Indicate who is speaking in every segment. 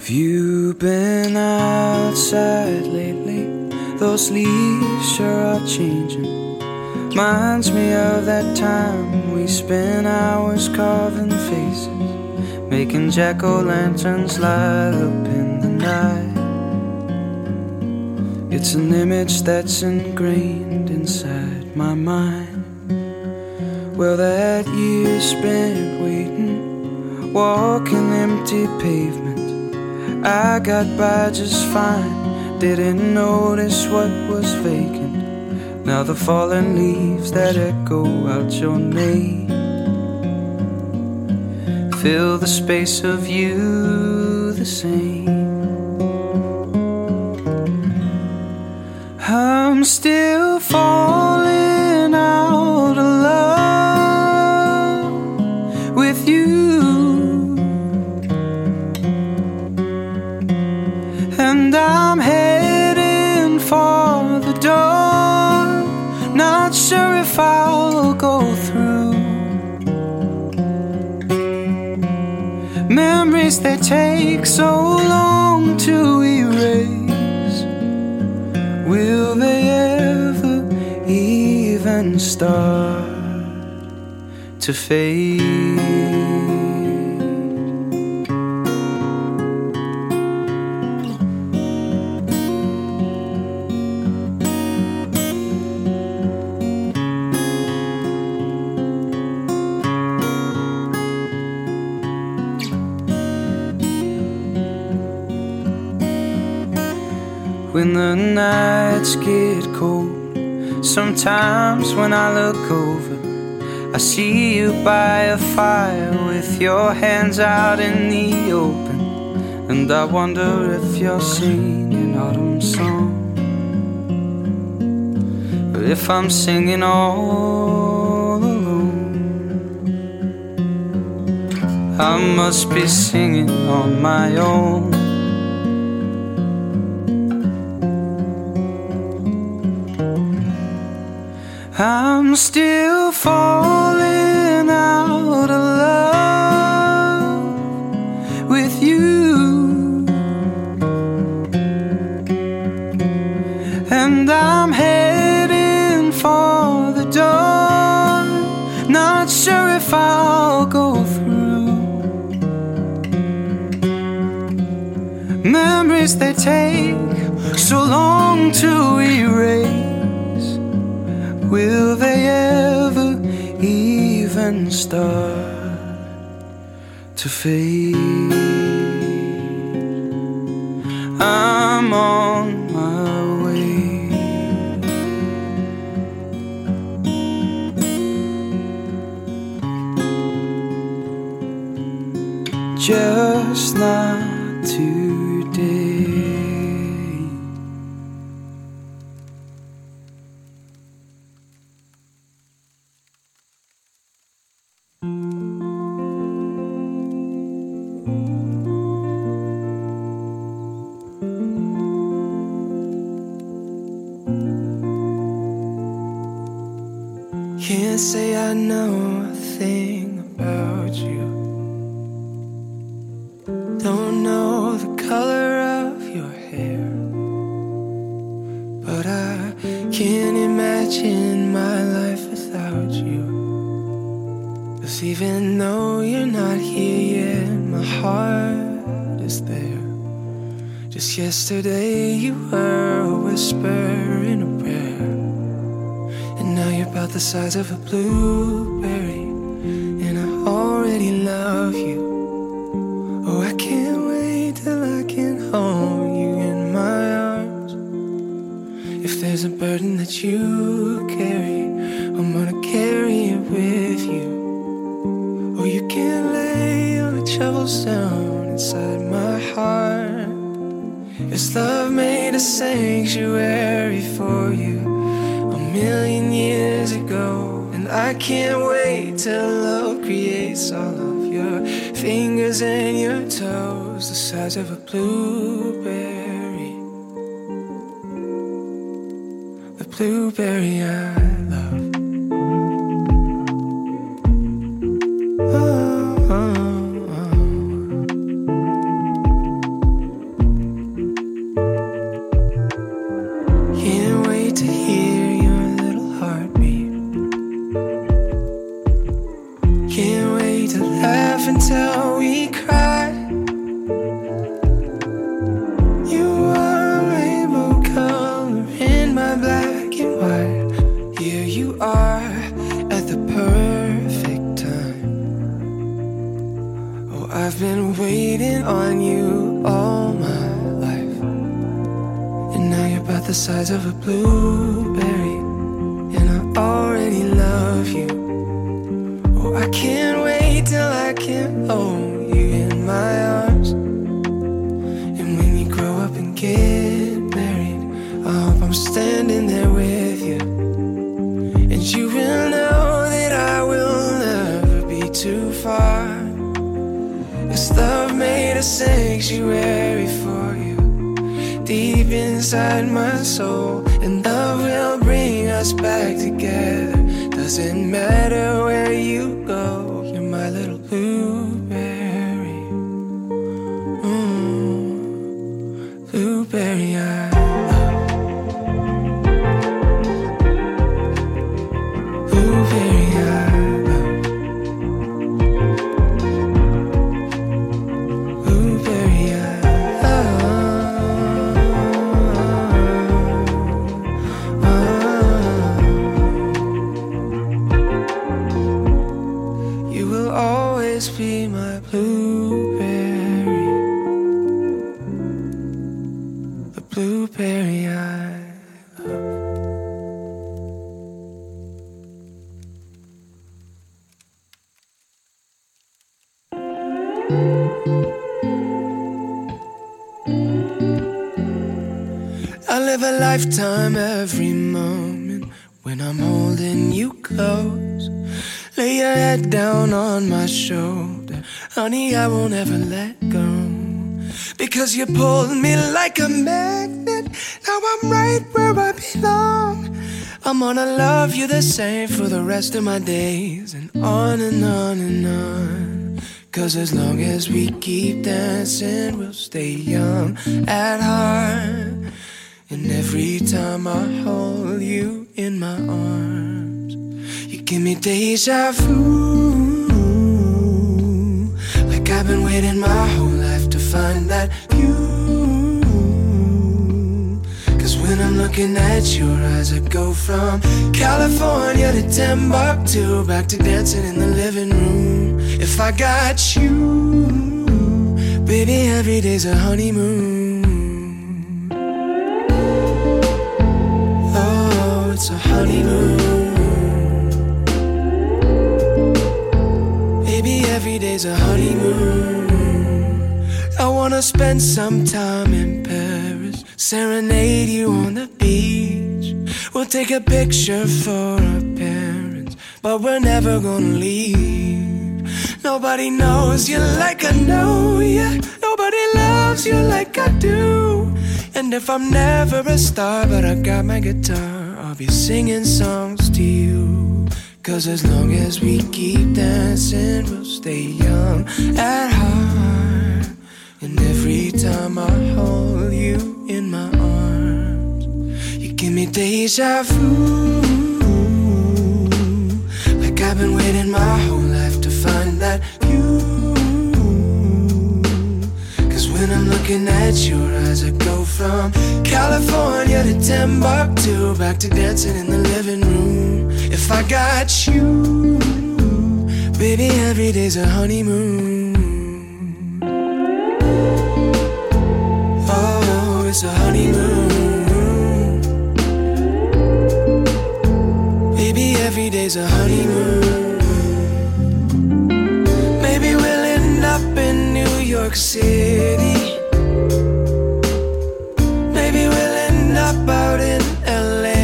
Speaker 1: You been outside lately? Those leaves sure are changing. Reminds me of that time we spent hours carving faces, making jack-o'-lanterns light up in the night. It's an image that's ingrained inside my mind. Well, that year spent waiting, walking empty pavement, I got by just fine, didn't notice what was vacant. Now the fallen leaves that echo out your name fill the space of you the same. I'm still falling out of love with you, and I'm heading for the door, not sure if I'll go through. Memories that take so long to erase, will they ever even start to fade? When the nights get cold, sometimes when I look over, I see you by a fire with your hands out in the open, and I wonder if you're singing autumn song, or if I'm singing all alone. I must be singing on my own. I'm still falling out of love with you, and I'm heading for the door, not sure if I'll go through. Memories that take so long to erase, will they ever even start to fade? I'm on my way, just not today. Can't say I know a thing about you. Don't know the color of your hair, but I can't imagine my life without you. 'Cause even though you're not here yet, my heart is there. Just yesterday you were a whisper in a prayer, and now you're about the size of a blueberry, and I already love you. Oh, I can't wait till I can hold you in my arms. If there's a burden that you carry, I'm gonna carry it with you. Oh, you can't lay on a cobblestone inside my heart. Yes, love made a sanctuary for you a million years ago, and I can't wait till love creates all of your fingers and your toes the size of a blueberry, the blueberry I love. Oh, oh, oh. laugh until we cry. You are a rainbow color in my black and white. Here you are at the perfect time. Oh, I've been waiting on you all my life, and now you're about the size of a blueberry, and I already love you. Oh, I can't wait till I can hold you in my arms. And when you grow up and get married, I hope I'm standing there with you. And you will know that I will never be too far. 'Cause love made a sanctuary for you deep inside my soul. And love will bring us back together. Doesn't matter where you go, you're my little blueberry. Blueberry I love. Blueberry I love. Blueberry I You will always be my blueberry, the blueberry I love. I live a lifetime every moment when I'm holding you close. Lay your head down on my shoulder, honey, I won't ever let go. Because you pulled me like a magnet, now I'm right where I belong. I'm gonna love you the same for the rest of my days, and on and on and on. 'Cause as long as we keep dancing, we'll stay young at heart. And every time I hold you in my arms, you give me deja vu, like I've been waiting my whole life to find that view. 'Cause when I'm looking at your eyes, I go from California to Timbuktu, back to dancing in the living room. If I got you, baby, every day's a honeymoon. Oh, it's a honeymoon. Baby, every day's a honeymoon. I wanna spend some time in Paris, serenade you on the beach. We'll take a picture for our parents, but we're never gonna leave. Nobody knows you like I know you. Nobody loves you like I do. And if I'm never a star, but I got my guitar, I'll be singing songs to you. 'Cause as long as we keep dancing, we'll stay young at heart. And every time I hold you in my arms, you give me deja vu, like I've been waiting my whole life to find that view. 'Cause when I'm looking at your eyes, I go from California to Timbuktu, back to dancing in the living room. If I got you, baby, every day's a honeymoon. Oh, it's a honeymoon. Baby, every day's a honeymoon. Maybe we'll end up in New York City. Maybe we'll end up out in LA.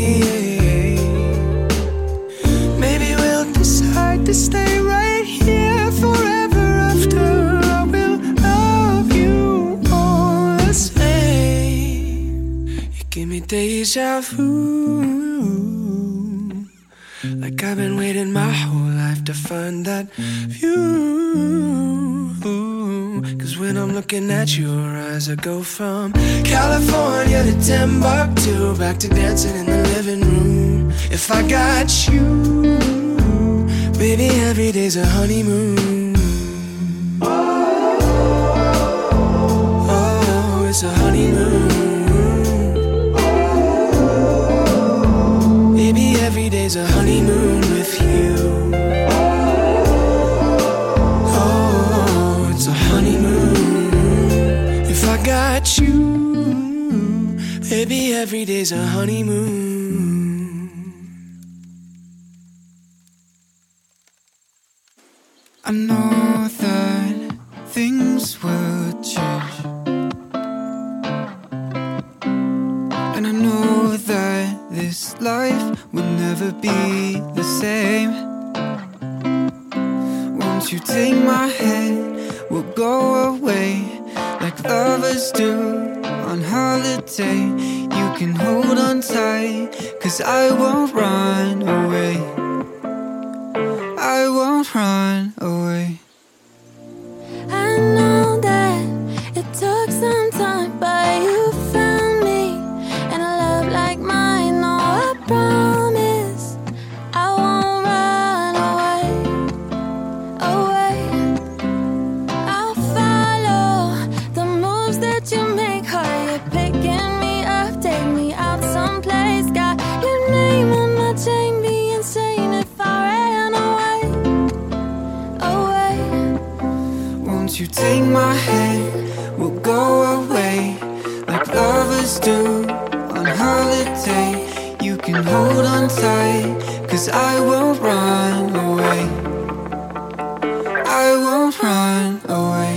Speaker 1: Maybe we'll decide to stay right here forever after. I will love you all the same. You give me deja vu, like I've been waiting my whole life to find that view. 'Cause when I'm looking at your eyes, I go from California to Timbuktu, back to dancing in the living room. If I got you, baby, every day's a honeymoon. got you, baby, every day's a honeymoon.
Speaker 2: I know that things will change, and I know that this life will never be the same. Won't you take my hand, we'll go away like lovers do on holiday. You can hold on tight, 'cause I won't run away. I won't run away.
Speaker 3: I know that it took some time, but you found me, and a love like mine. No, I promise I won't run away, away. I'll follow the moves that you make. Are you picking me up? Take me out someplace. Got your name on my chain. Be insane if I ran away, away.
Speaker 2: Won't you take my hand, we'll go away like lovers do on holiday. You can hold on tight, 'cause I won't run away. I won't run away.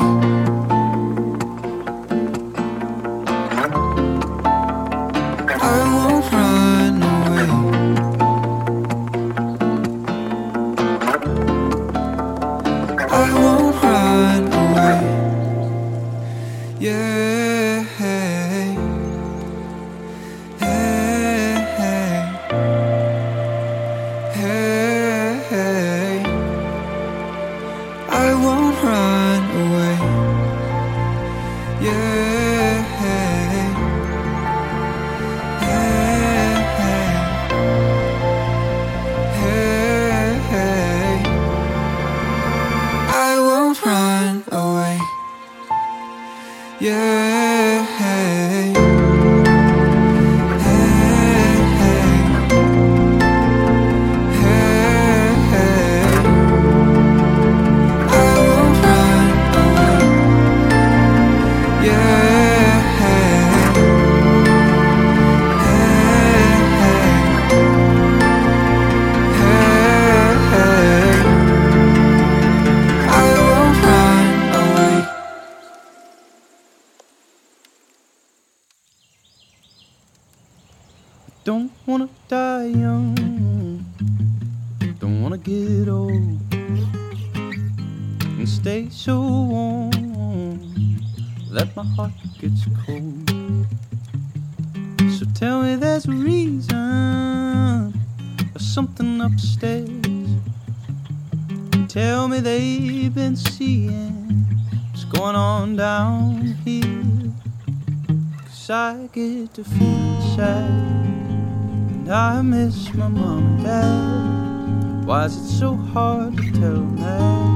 Speaker 2: I won't run away. I won't run away. Yeah. Hey. Hey. Hey. I won't run away. Yeah. Hey. Hey. I won't run away. Yeah. Hey. I won't run away. Yeah. I won't run away.
Speaker 4: Don't wanna die young, don't wanna get old and stay so warm that my heart gets cold. So tell me there's a reason or something upstairs. Tell me they've been seeing what's going on down here. 'Cause I get to feel sad, I miss my mom and dad. Why is it so hard to tell them that?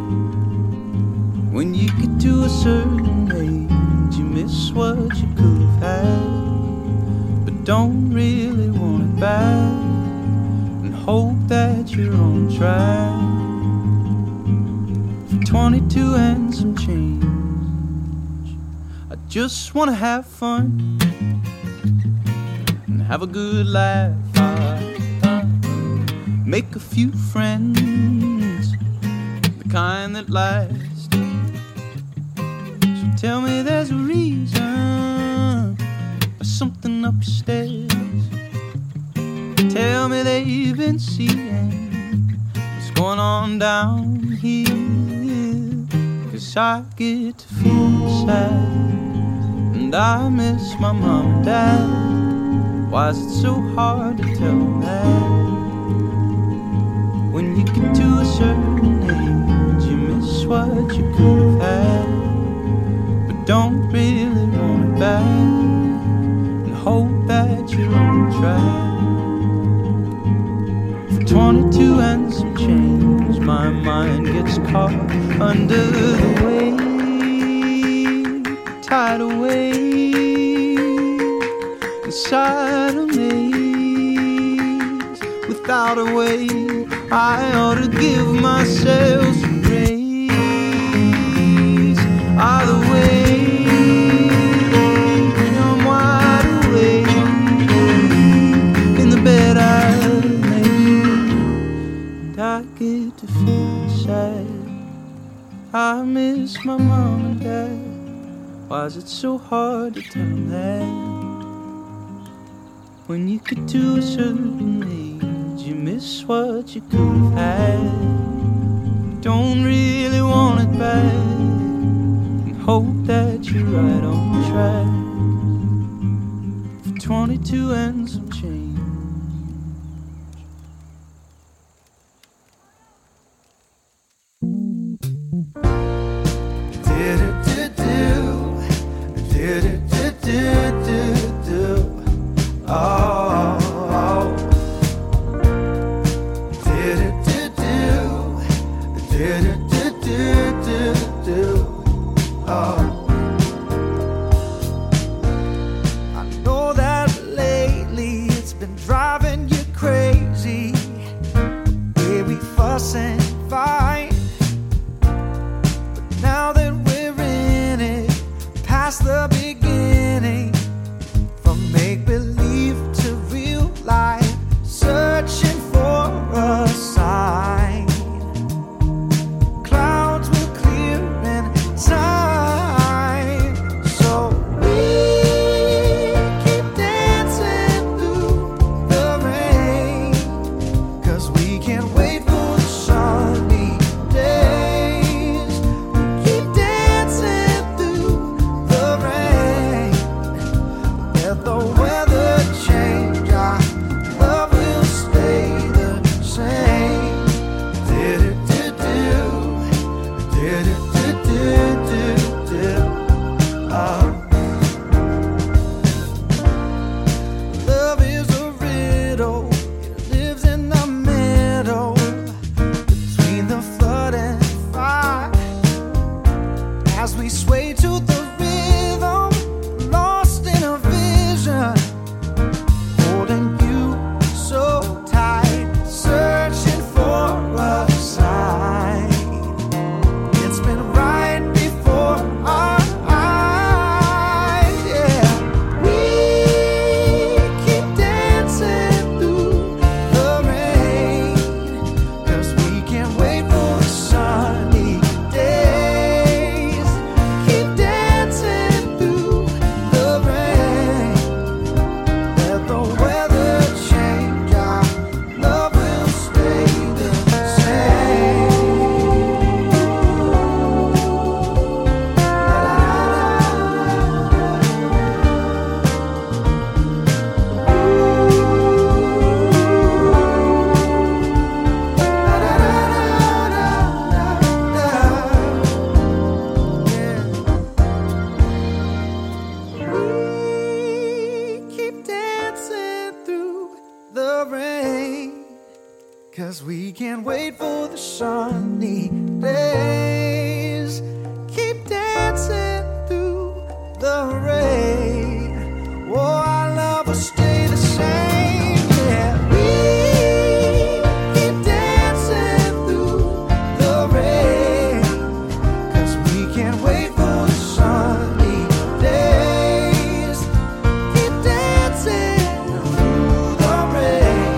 Speaker 4: When you get to a certain age, you miss what you could have had, but don't really want it back, and hope that you're on track. For 22 and some change, I just wanna have fun, have a good laugh, make a few friends, the kind that last. So tell me there's a reason or something upstairs. Tell me they've been seeing what's going on down here. 'Cause I get to feel sad, and I miss my mom and dad. Why is it so hard to tell them that? When you get to a certain age, you miss what you could have had, but don't really want it back, and hope that you're on track. For 22 and some change, my mind gets caught under the weight, tidal wave inside of me. Without a way, I ought to give myself some grace. Either way, miss my mom and dad. Why is it so hard to tell them that? When you get to a certain age, you miss what you could have had. Don't really want it back, and hope that you're right on track. For 22 and some change.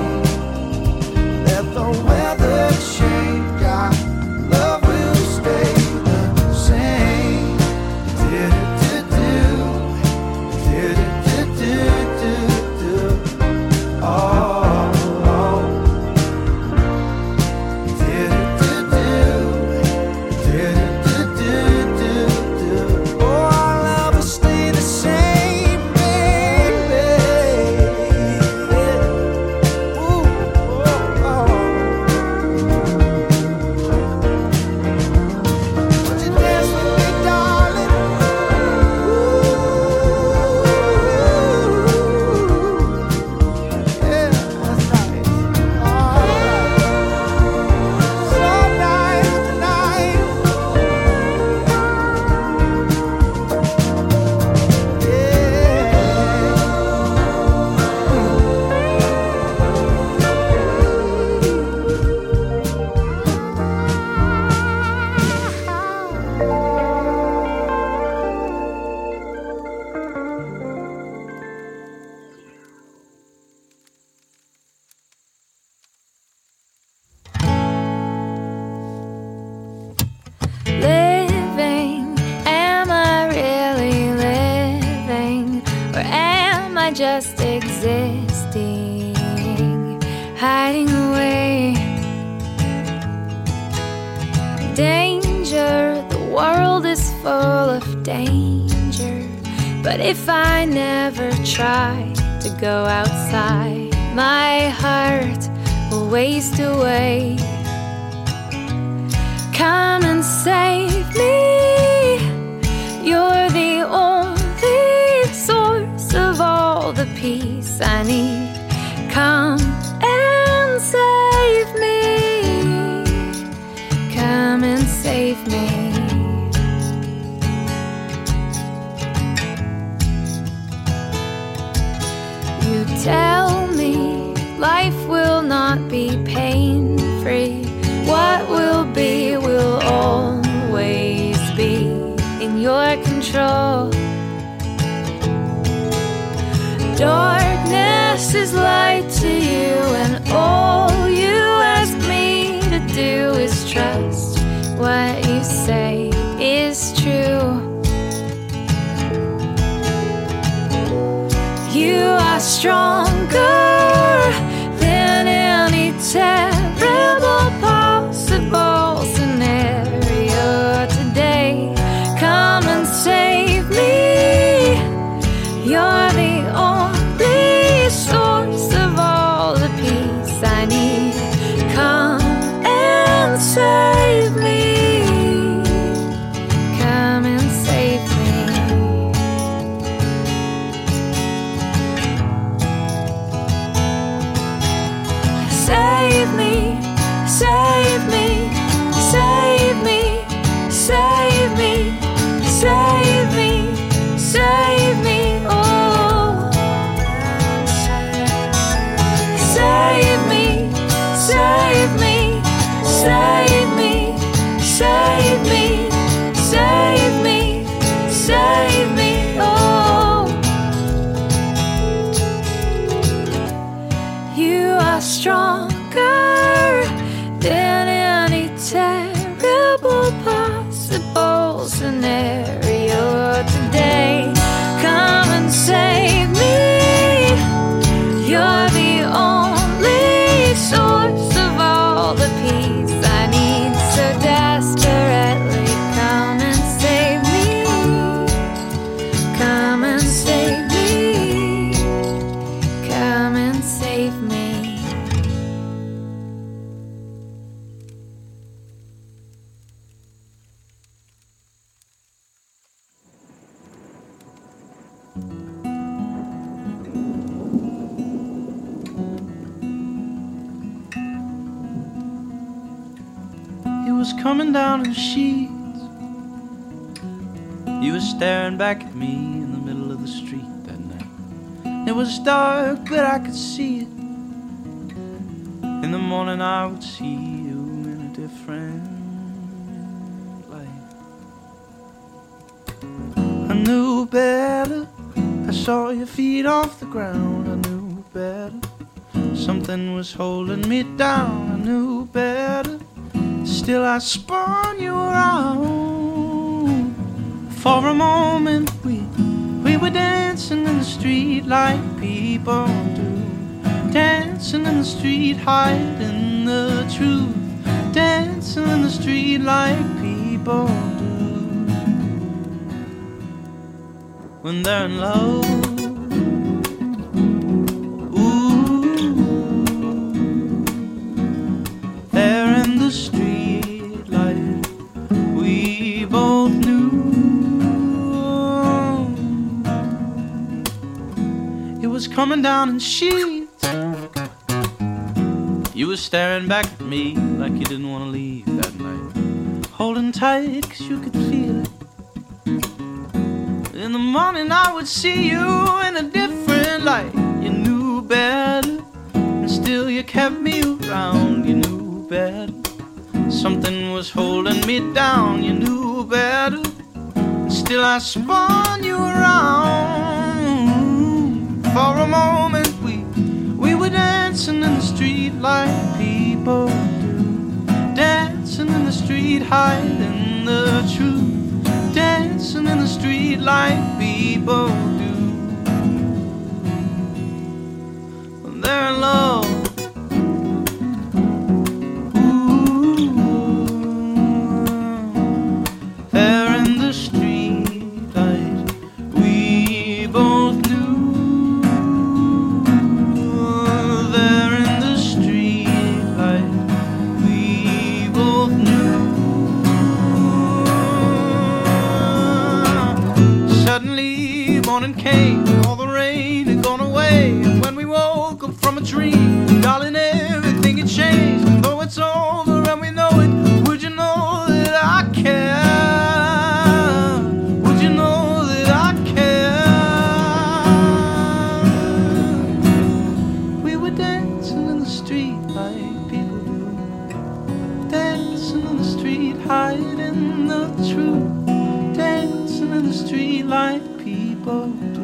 Speaker 2: Weather change, our love will stay.
Speaker 3: just existing, hiding away. Danger, the world is full of danger. But if I never try to go outside, my heart will waste away. Come and save me. You're the only source of all the peace I need. Come and save me. Come and save me. You tell me life will not be pain-free. What will be will always be in your control. Darkness is light to you, and all you ask me to do is trust what you say is true. You are stronger than any terrible possible scenario today. Come and save me. You're the only source of all the peace I need. Come and save me. Come and save me. Save me, save me, save me, save me, save me, save me, oh. Save me, save me, save me, save me, save me, save me, oh. You are stronger than any terrible possible scenario today. Come and save me. You're the only source of all the peace I need so desperately. Come and save me. Come and save me. Come and save me.
Speaker 4: It was coming down in sheets. You were staring back at me in the middle of the street that night. It was dark, but I could see it. In the morning I would see you in a different light. I knew better. I saw your feet off the ground. I knew better. Something was holding me down. I knew better. Still I spun you around. For a moment we were dancing in the street like people do. Dancing in the street, hiding the truth. Dancing in the street like people do when they're in love. Coming down in sheets. You were staring back at me like you didn't want to leave that night. Holding tight cause you could feel it. In the morning I would see you in a different light. You knew better, and still you kept me around. You knew better. Something was holding me down. You knew better, and still I spun you around. For a moment we were dancing in the street like people do. Dancing in the street, hiding the truth. Dancing in the street like people do morning came, and all the rain had gone away. And when we woke up from a dream, darling, everything had changed. And though it's over and we know it, would you know that I care? Would you know that I care? We were dancing in the street like people do, dancing in the street, hiding the truth, dancing in the street like people do.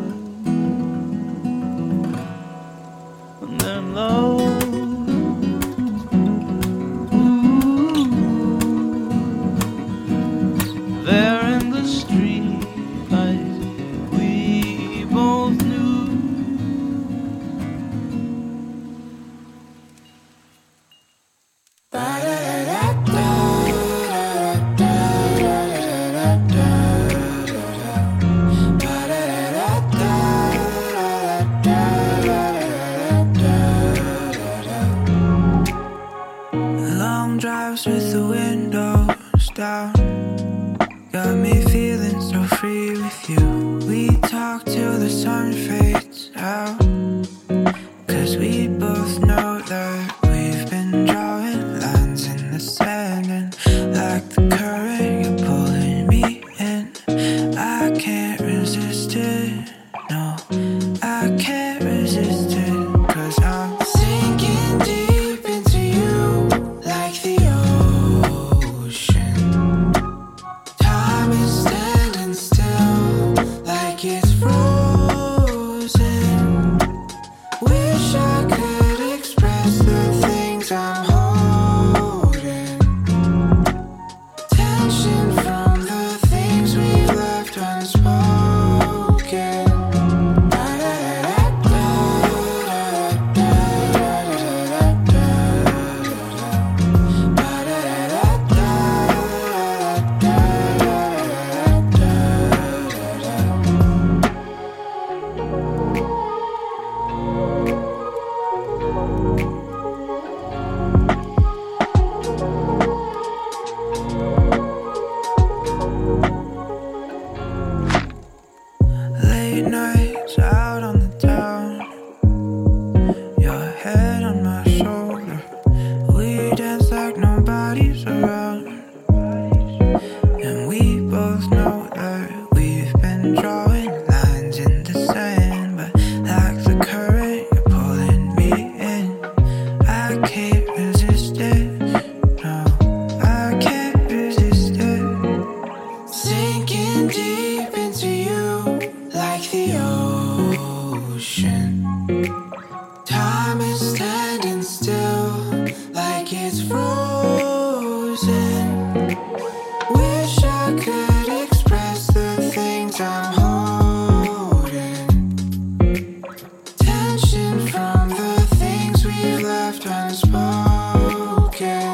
Speaker 4: And then love, there in the street light, we both knew.
Speaker 2: Long drives with the windows down got me feeling so free with you. We talk till the sun fades out, 'cause we both know that we've been drawing lines in the sand. And like the current, you're pulling me in. I can't resist it, no, I can't resist it. 'Cause I'm sinking deep into you like the ocean. Time is standing still like it's frozen. Wish I could express the things I'm holding. Tension from the things we've left unspoken. Late nights out on the town, your head on my shoulder. We dance like nobody's around, and we both know that we've been drawing lines in the sand. But like the current, you're pulling me in. I can't resist it, no, I can't resist it. Sinking deep into you like the ocean. Time is standing still like it's frozen. Wish I could express the things I'm holding. Tension from the things we've left unspoken.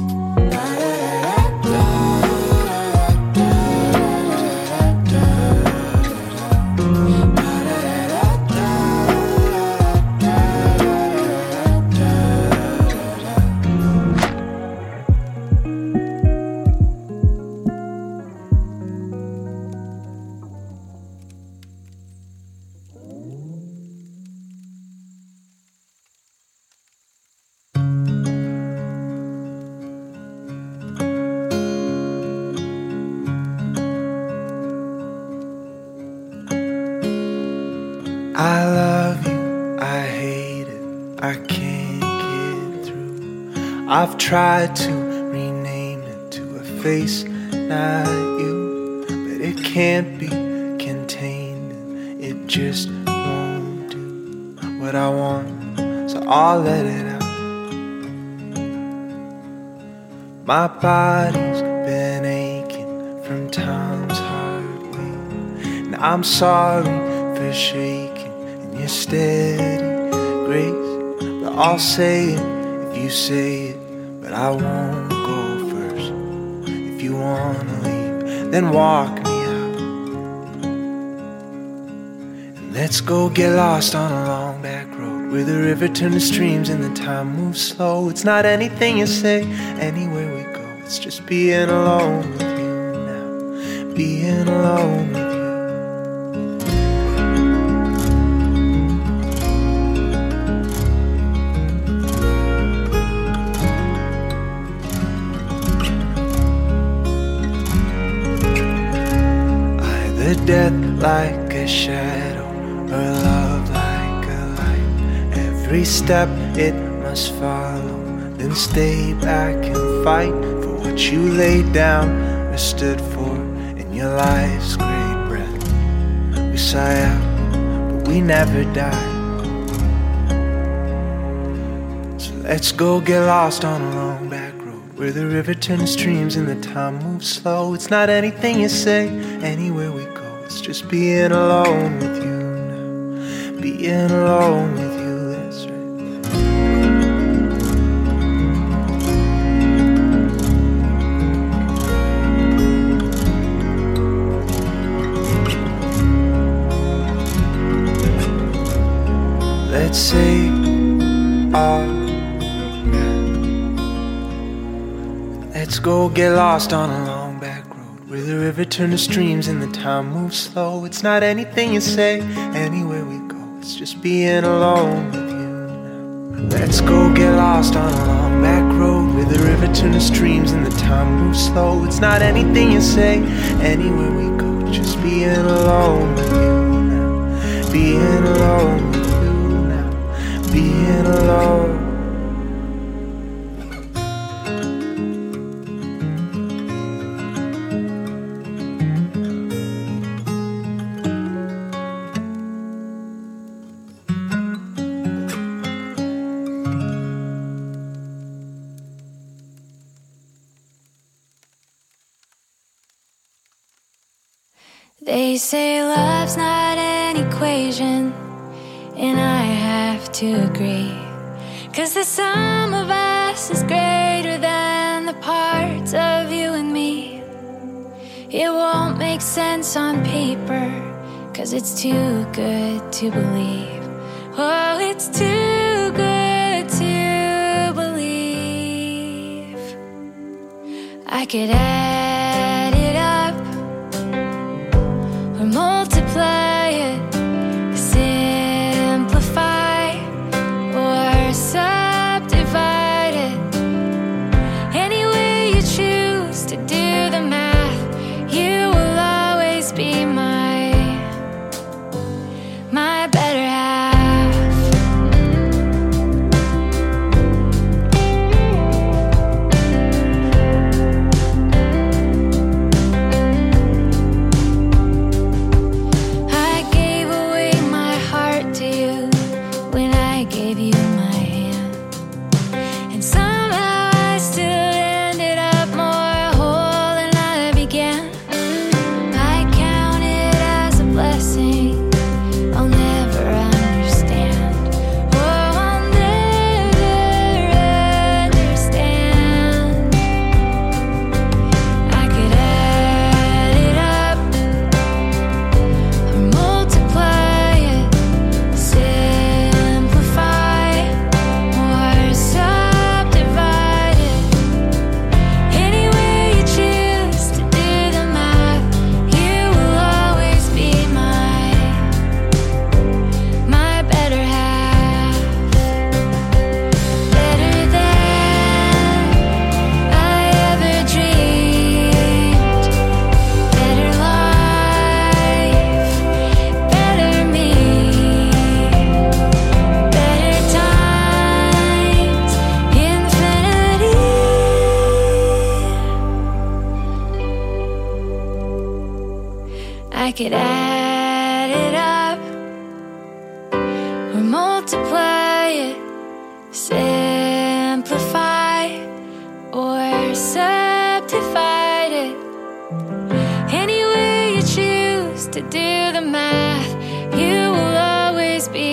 Speaker 1: I love you, I hate it, I can't get through. I've tried to rename it to a face, not you, but it can't be contained, and it just won't do what I want, so I'll let it out. My body's been aching from time's hard way, and I'm sorry for shaking in your steady grace. But I'll say it if you say it, but I won't go first. If you wanna leave, then walk me out, and let's go get lost on a long back road where the river turns to streams and the time moves slow. It's not anything you say, anywhere we go, it's just being alone with you now, being alone with you. Either death like a shadow or love like a light. Every step it must follow, then stay back and fight for what you laid down or stood for in your life's great breath. We sigh out, but we never die. So let's go get lost on a long back road, where the river turns streams and the time moves slow. It's not anything you say, anywhere we go, it's just being alone with you now. Being alone with you, that's right. Let's say our Let's go get lost on a long back road, where the river turns to streams and the time moves slow. It's not anything you say, anywhere we go, it's just being alone with you now. Let's go get lost on a long back road, where the river turns to streams and the time moves slow. It's not anything you say, anywhere we go, just being alone with you now. Being alone with you now. Being alone.
Speaker 3: They say love's not an equation, and I have to agree, 'cause the sum of us is greater than the parts of you and me. It won't make sense on paper, 'cause it's too good to believe. Oh, it's too good to believe. I could add it up or multiply it, simplify or subdivide it. Any way you choose to do the math, you will always be my better half. I gave away my heart to you when I gave you my hand, and somehow I still ended up more whole than I began. I count it as a blessing I'll never understand. Oh, I'll never understand. I could add it up or multiply it, simplify or subdivide it. Any way you choose to do the math, you will always be my better half. Better than I ever dreamed. Better life, better me. Better times, infinity. I could add it up or multiply it, simplify or subdivide it. Any way you choose to do the math, you will always be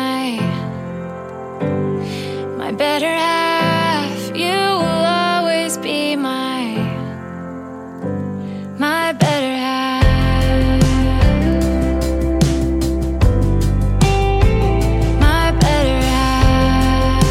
Speaker 3: my better half. You will always be my better half. My better half.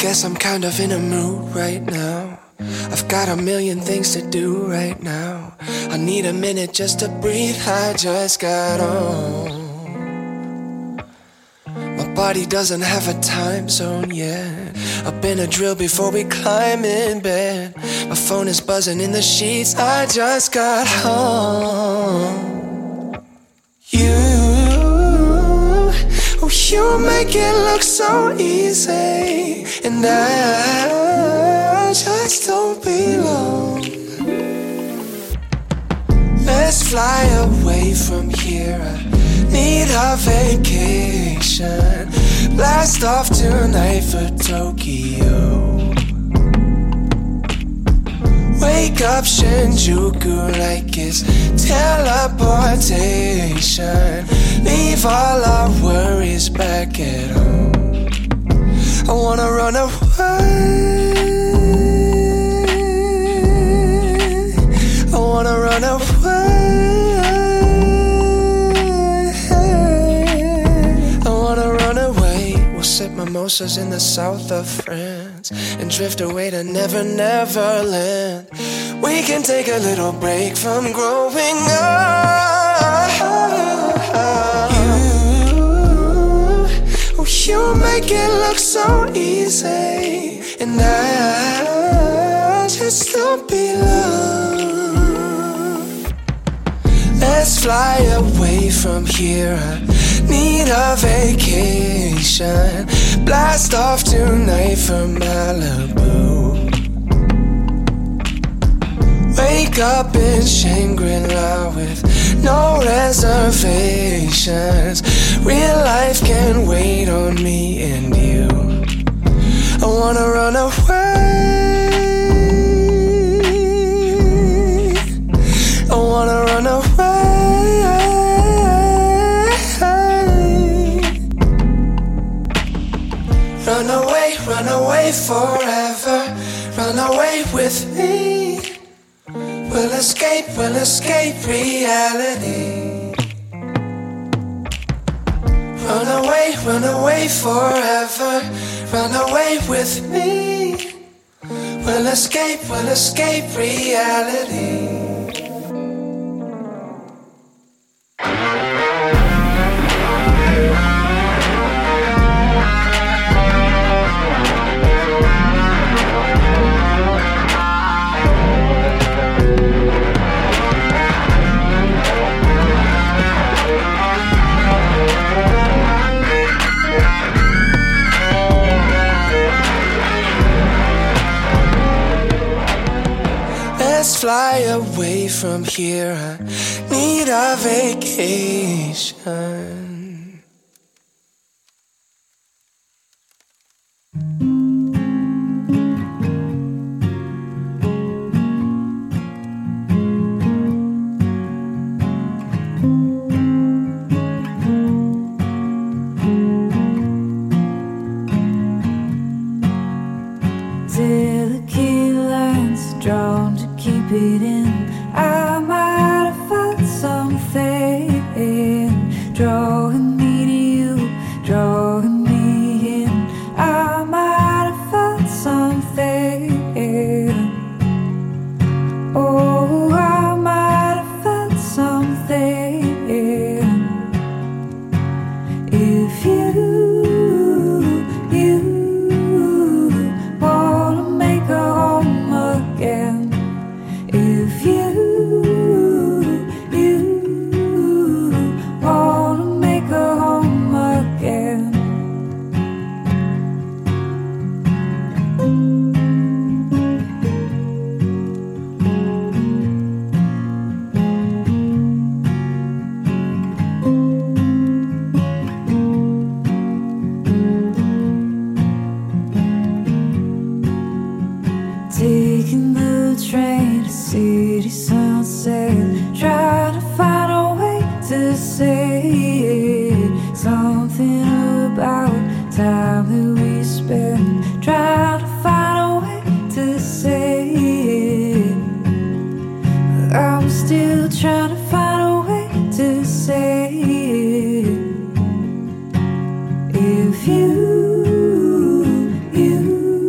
Speaker 1: guess I'm kind of in a mood right now. I've got a million things to do right now. I need a minute just to breathe, I just got on. My body doesn't have a time zone yet. I've been a drill before we climb in bed. My phone is buzzing in the sheets, I just got home. You make it look so easy, and I just don't belong. Let's fly away from here, I need a vacation. Blast off tonight for Tokyo. Wake up Shinjuku like it's teleportation. Leave all our worries back at home. I wanna run away. I wanna run away. I wanna run away. We'll sip mimosas in the south of France and drift away to Never Never Land. We can take a little break from growing up. You make it look so easy, and I just don't belong. Let's fly away from here, I need a vacation. Blast off tonight for Malibu. Wake up in Shangri-La with no reservations. Real life can wait on me and you. I wanna run away. I wanna run away. Run away forever. Run away with me. We'll escape reality. Run away forever. Run away with me. We'll escape reality. Let's fly away from here, I need a vacation.
Speaker 5: Delicate lines drawn to keep it in. I might have felt something drawing me to you, drawing me in. I might have felt something. Oh, I might have felt something. If you wanna make a home again, if you wanna make a home again. Taking the train to city sunset, trying to find a way to say it. Something about time that we spend, trying to find a way to say it. I'm still trying to find a way to say it. If you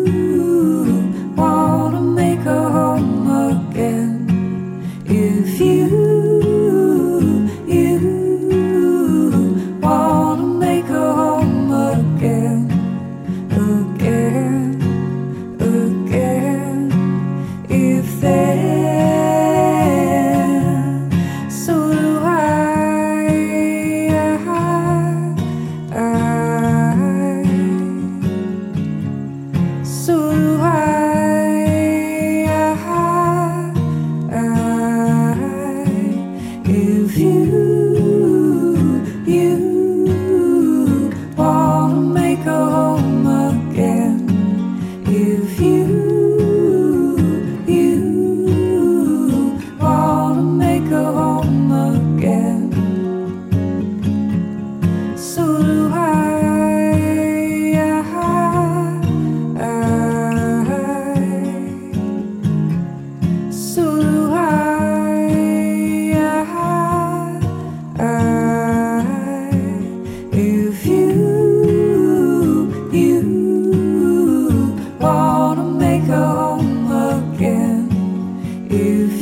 Speaker 5: if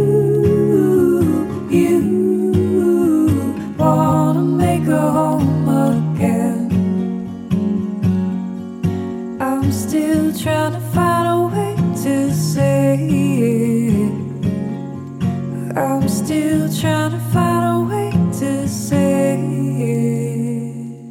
Speaker 5: you wanna make a home again. I'm still trying to find a way to say it. I'm still trying to find a way to say it.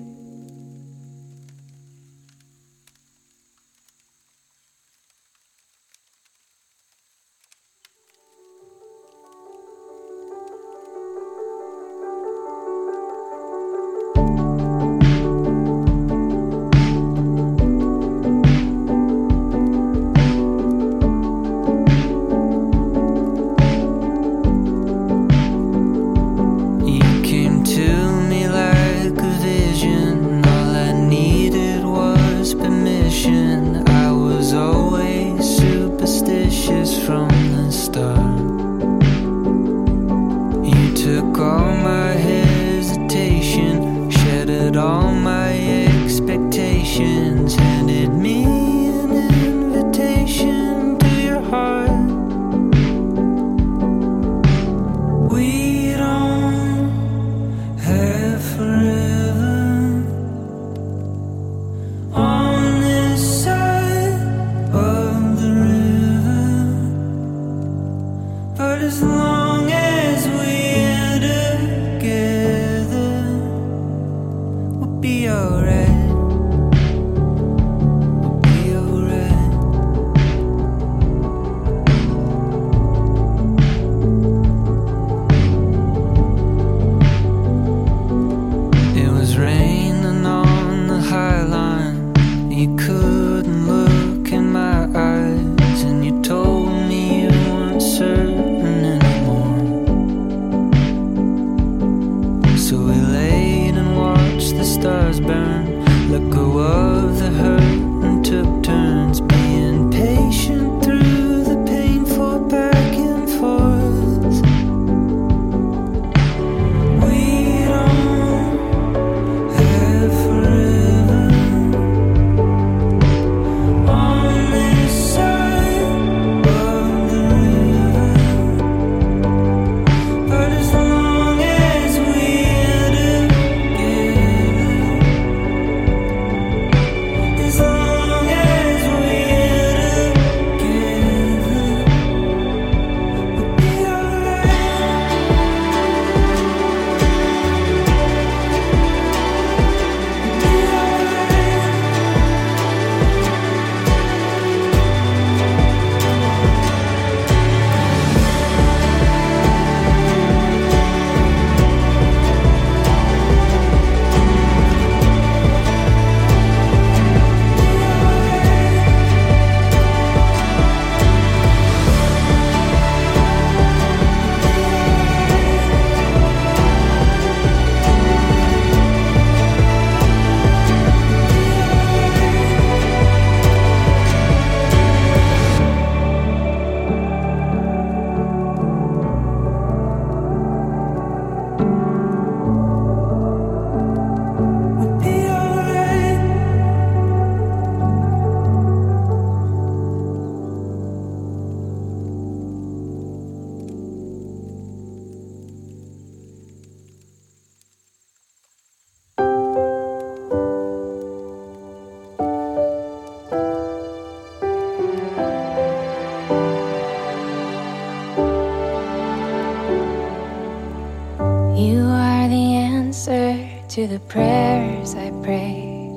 Speaker 3: To the prayers I prayed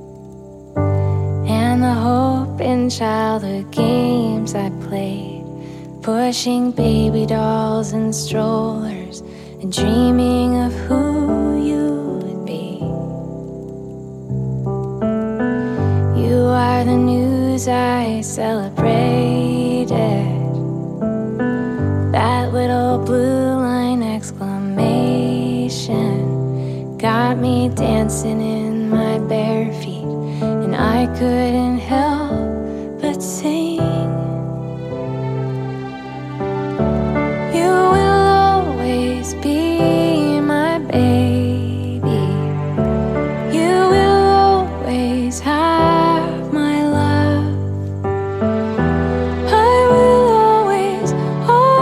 Speaker 3: and the hope in childhood games I played, pushing baby dolls and strollers and dreaming of who you would be. You are the news I celebrated, that little blue line exclamation got me dancing in my bare feet, and I couldn't help but sing. You will always be my baby. You will always have my love. I will always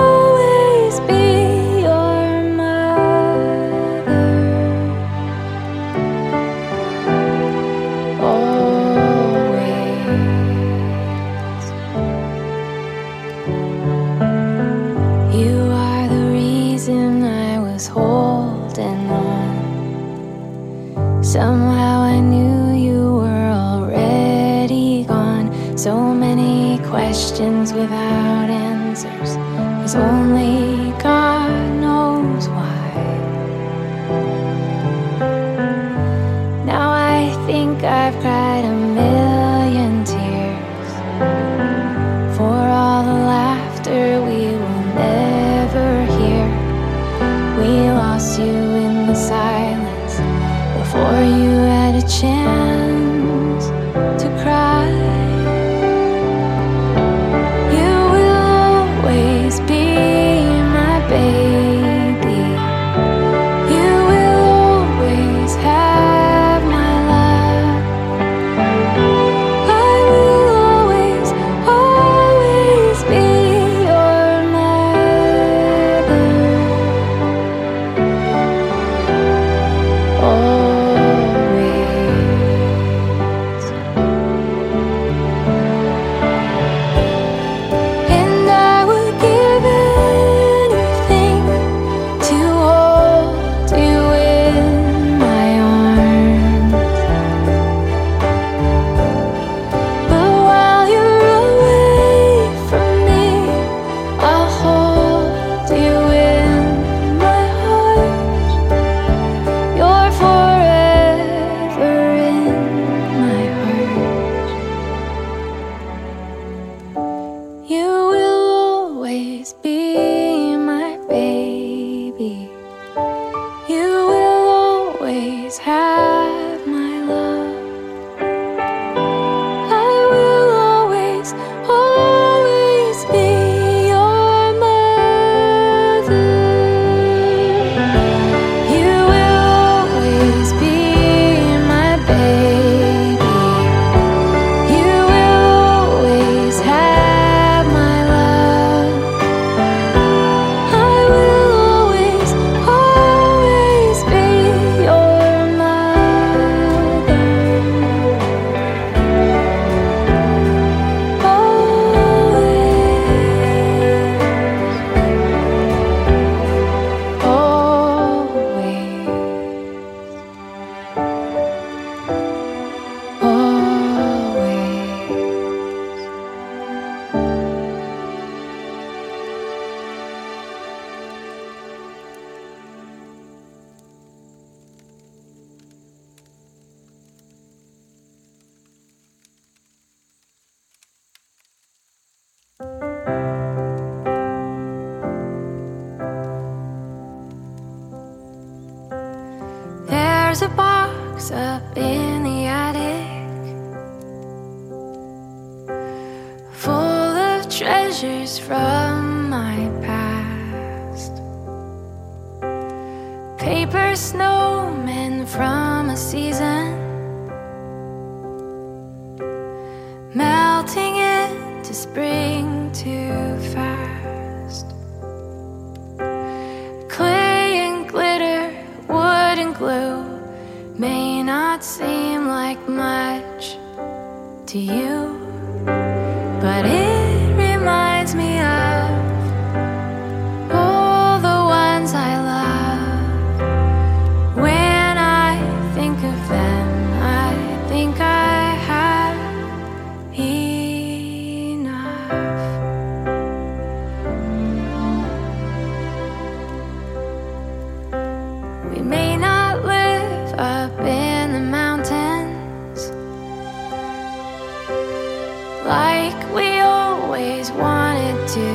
Speaker 3: questions without answers, 'cause only God knows why. Now I think I've cried a million tears for all the laughter we will never hear. We lost you in the silence before you had a chance to cry. You will always be my baby. You will always have my love. I will always, always be your mother. Always. And I would give anything to hold you in my arms. But while you're away from me, I'll hold you in my heart. You're forever in my heart. You will always be my baby. You will always have my love. I will always, always be your mother. You will always be my baby. You will always have my love. I will always, always be your mother. There's a box up in the attic full of treasures from my past. Paper snowmen from a season melting into spring too fast. Clay and glitter, wood and glue may not seem like much to you, but it reminds me of all the ones I love. When I think of them, I think I have enough. We may not live up in the mountains like we always wanted to,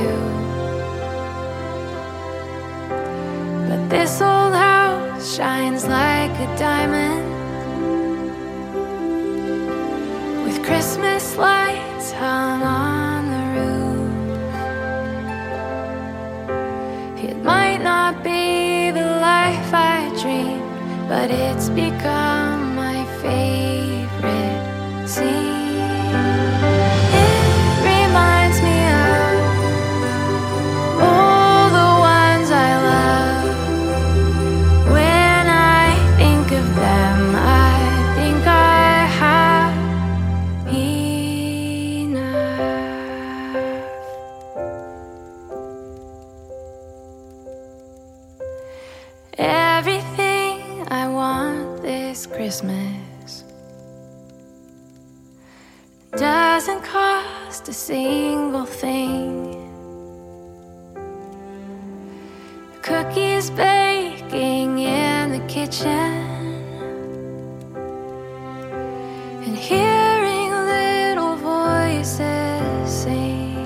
Speaker 3: but this old house shines like a diamond with Christmas lights hung on the roof. It might not be the life I dreamed, but it's become my favorite scene. It reminds me of all the ones I love. When I think of them, I think I have enough. Everything I want this Christmas doesn't cost just a single thing. Cookies baking in the kitchen, and hearing little voices sing.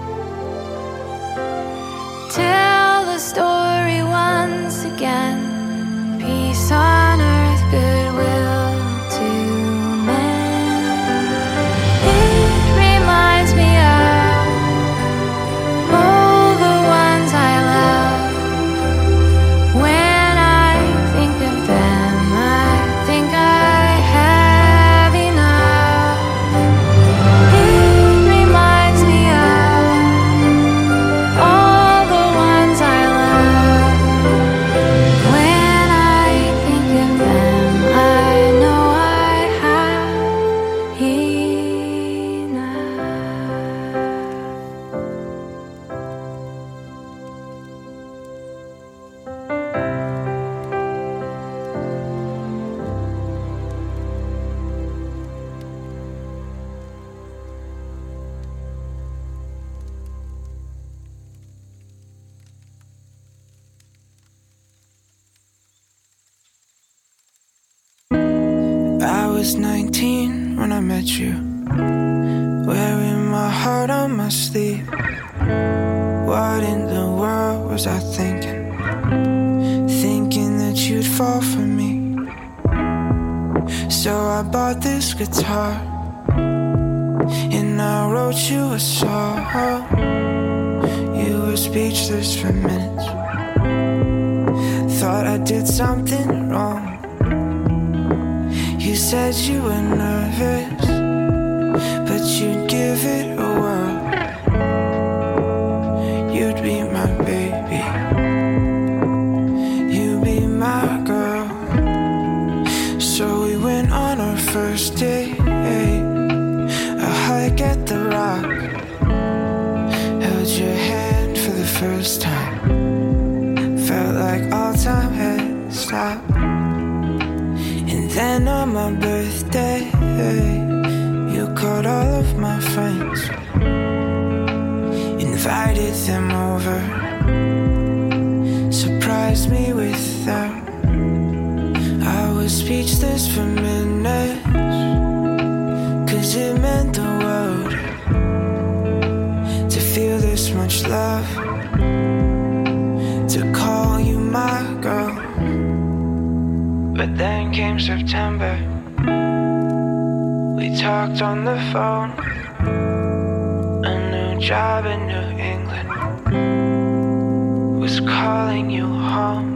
Speaker 3: Tell the story once again. Peace on earth, goodwill to men. It reminds me of all the ones I love. When I think of them, I think I have enough. It reminds me of all the ones I love. When I think of them, I know I have enough.
Speaker 1: I was 19 when I met you, wearing my heart on my sleeve. What in the world was I thinking? Thinking that you'd fall for me. So I bought this guitar, and I wrote you a song. You were speechless for minutes. Thought I did something wrong. You said you were nervous, but you'd give it a whirl. You'd be my baby, you'd be my girl. So we went on our first date, a hike at the Rock. Held your hand for the first time. Felt like all time had stopped. And then on my birthday, you called all of my friends, invited them over, surprised me with them. I was speechless for minutes, 'cause it meant the world to feel this much love, to call you my girl. But then came September. We talked on the phone. A new job in New England was calling you home.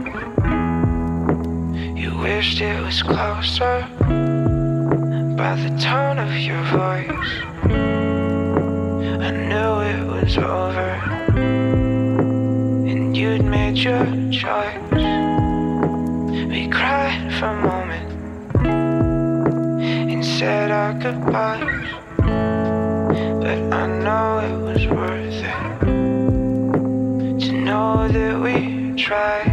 Speaker 1: You wished it was closer by the tone of your voice. I knew it was over, and you'd made your choice. We cried for a moment and said our goodbyes, but I know it was worth it to know that we tried.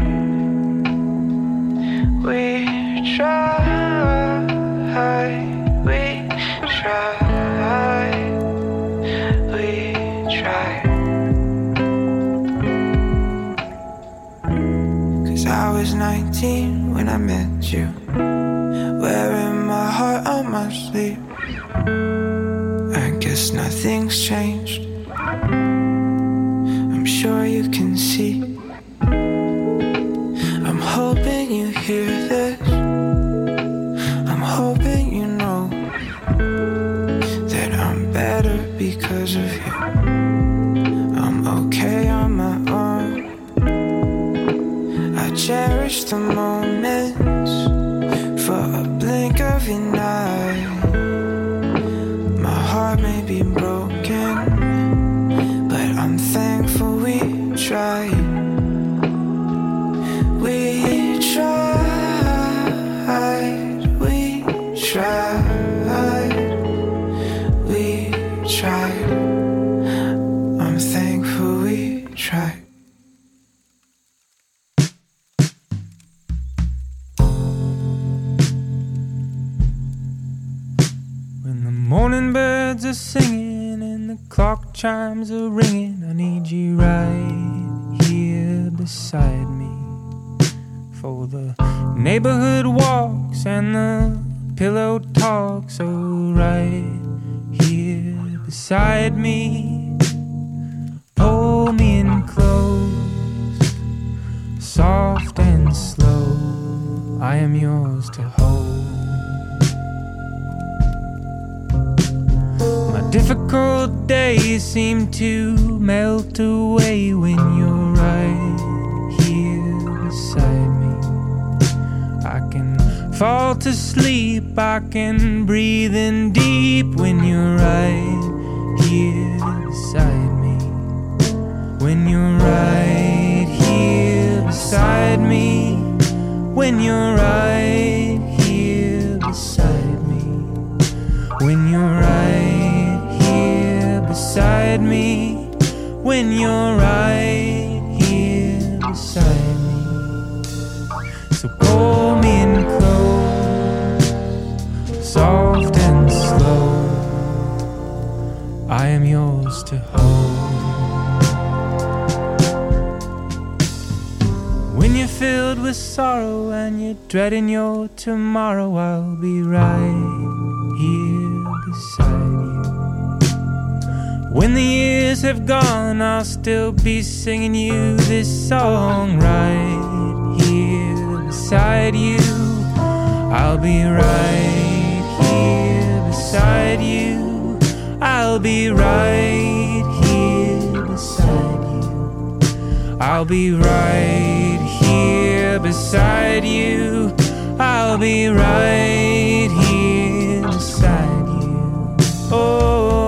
Speaker 1: We tried, we tried, we tried. 'Cause I was 19 when I met you, wearing my heart on my sleeve. I guess nothing's changed, I'm sure you can see. I'm hoping you hear this, I'm hoping you know that I'm better because of you. I'm okay on my own. I cherish the moments for a blink of your eye. My heart may be broken, but I'm thankful we tried. We tried, we tried, we tried. I'm thankful we tried.
Speaker 6: Morning birds are singing and the
Speaker 1: clock chimes are ringing. I need you right here beside me. For the neighborhood walks and the pillow talks, oh, right here beside me. Pull me in close, soft and slow. I am yours to hold. My difficult days seem to melt away when you're right here beside me. I can fall to sleep, I can breathe in deep when you're right here beside me. When you're right here beside me. When you're right here beside me. When you're right here beside me. When you're right here beside me. So pull me in close, soft and slow. I am yours to hold. When you're filled with sorrow and you're dreading your tomorrow, I'll be right here beside you. When the years have gone, I'll still be singing you this song right here beside you. I'll be right here beside you. I'll be right here beside you. I'll be right here beside you. I'll be right here beside you. Oh.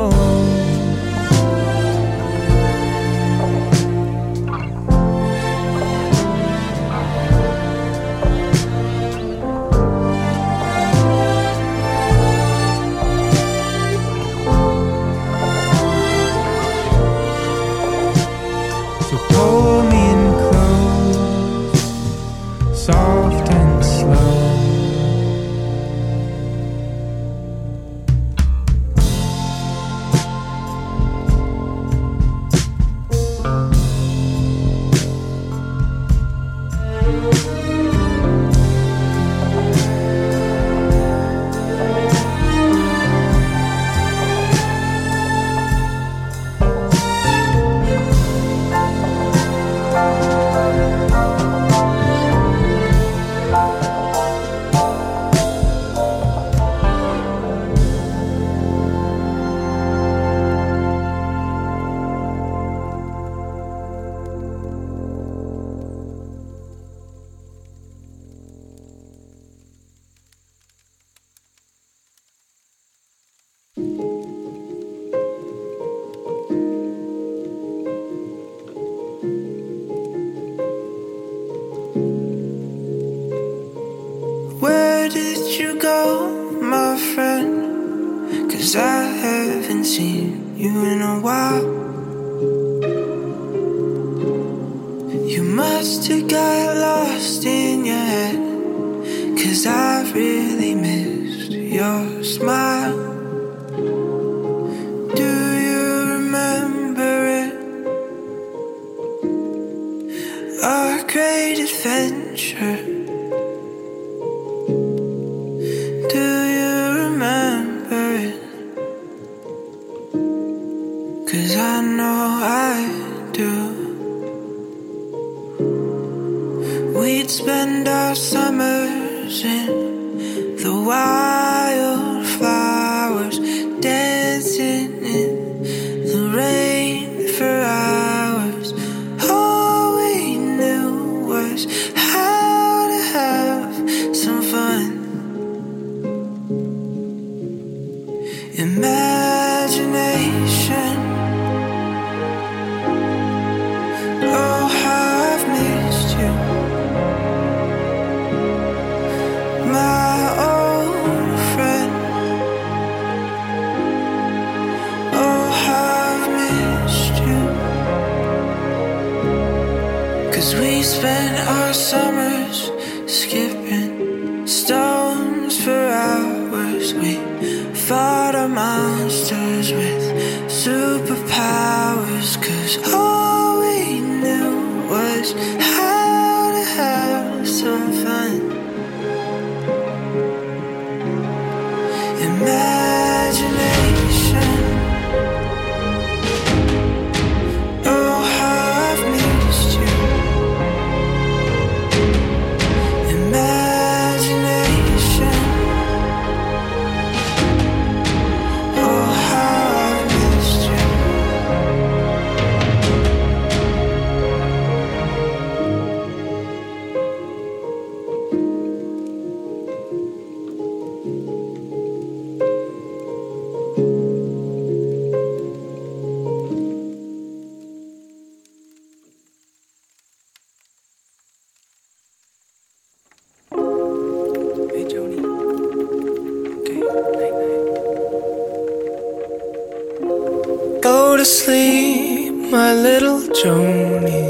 Speaker 1: Pull me in close, soft and slow.
Speaker 2: Where did you go, my friend? 'Cause I haven't seen you in a while. You must have got lost in your head, 'cause I really missed your smile. Do you remember it? Our great adventure. Do you remember it? 'Cause I know I do. We'd spend our summers in the wildflowers, dancing in the rain for hours. All we knew was how to have some fun. Imagination. Oh, how I've missed you, my old friend. Oh, how I've missed you. 'Cause we spent our summers skipping stones for hours. We fought our monsters with
Speaker 1: superpowers, 'cause all we knew was how to have some fun. Imagination. Oh, how I've missed you. Imagination. Oh, how I've missed you. Hey, Joni. Okay, night night. Go to sleep, my little Joni.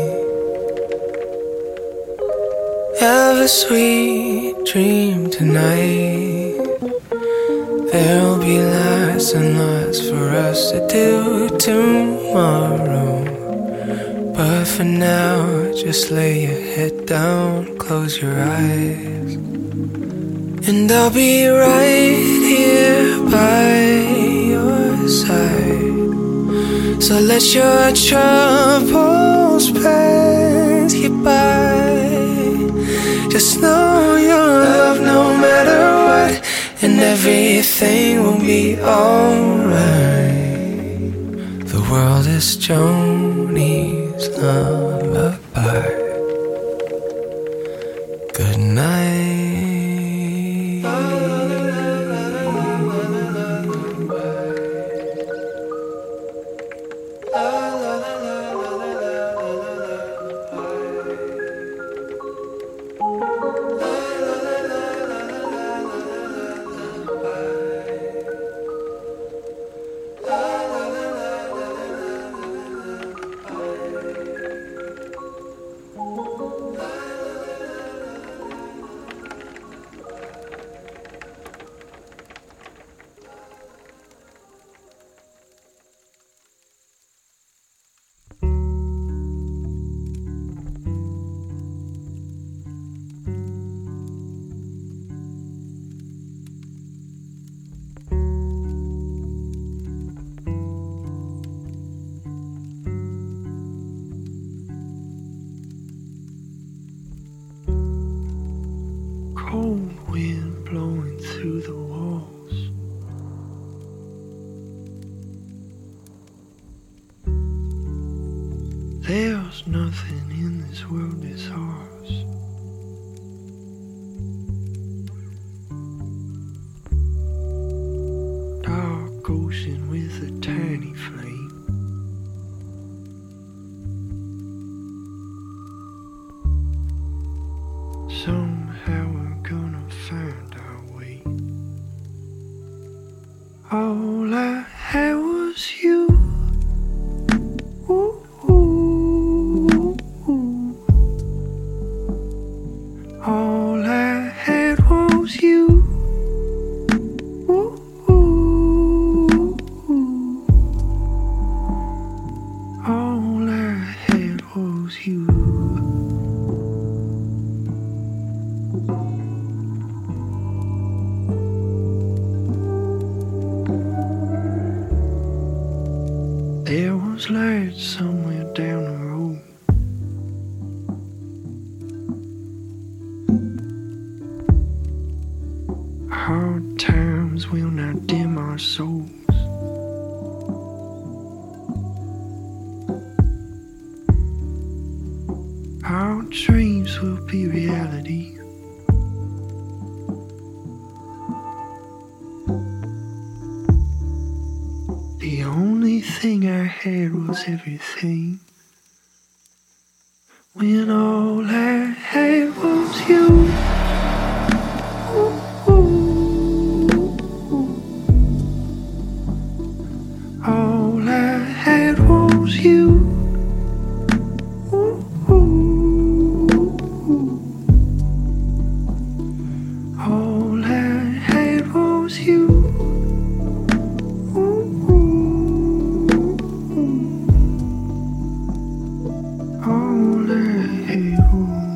Speaker 1: Have a sweet dream tonight. There'll be lots and lots for us to do tomorrow. But for now, just lay your head down, close your eyes, and I'll be right here by your side. So let your troubles pass you by. Just know you're loved no matter what, and everything will be alright. The world is Joni's lullaby. Good night. Cold wind blowing through the walls. There's nothing in this world that's ours. Dark ocean with a tiny flame. Somehow we're gonna find our way. All I had was you. Ooh, ooh, ooh. All I had was you. Ooh, ooh, ooh. All I had was you. There was light somewhere down the road. Hard times will not dim our souls. Our dreams will be reality. The only thing I had was everything. When all I had was you. Ooh, ooh, ooh. All I had was you. Ooh, ooh, ooh. All I had was you. Ooh, ooh. table.